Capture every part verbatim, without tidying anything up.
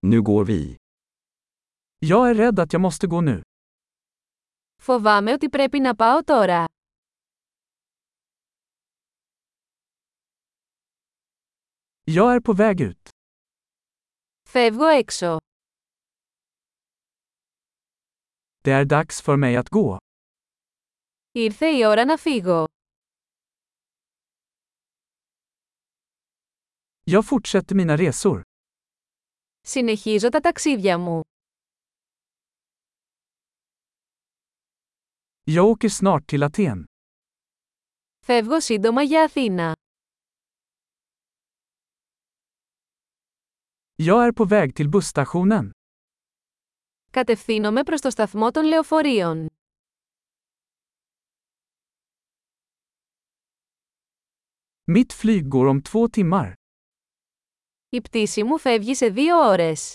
Nu går vi. Jag är rädd att jag måste gå nu. Φοβάμαι ότι πρέπει να πάω τώρα. Jag är på väg ut. Φεύγω έξω. Det är dags för mig att gå. Ήρθε η ώρα να φύγω. Jag fortsätter mina resor. Συνεχίζω τα ταξίδια μου. Jag åker snart till Aten. Φεύγω σύντομα για Αθήνα. Jag är på väg till busstationen. Κατευθύνομαι προς το σταθμό των λεωφορείων. Mitt flyg går om två timmar. Η πτήση μου φεύγει σε δύο ώρες.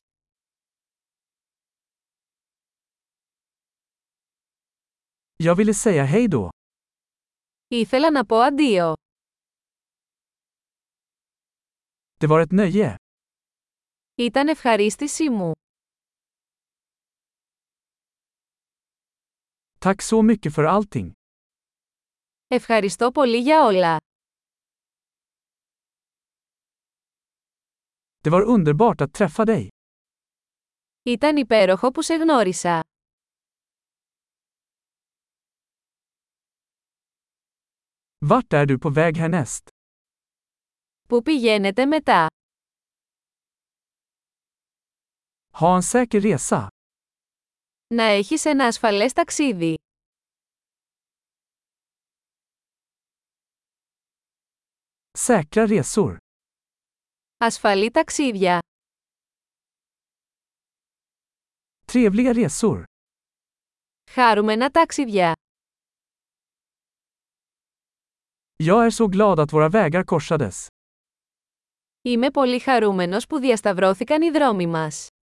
Jag ville säga hej då. Ήθελα να πω αντίο. Det var ett nöje. Ήταν ευχαρίστησή μου. Tack så mycket för allting. Ευχαριστώ πολύ για όλα. Det var underbart att träffa dig. Ήταν υπέροχο που σε γνώρισα. Vart är du på väg härnäst? Πού πηγαίνετε μετά? Ha en säker resa. Να έχεις ένα ασφαλές ταξίδι. Säkra resor. Ασφαλή ταξίδια. Trevliga resor. Χάρουμενα ταξίδια. Jag är så glad att våra vägar korsades. Είμαι πολύ χαρούμενος που διασταυρώθηκαν οι δρόμοι μας.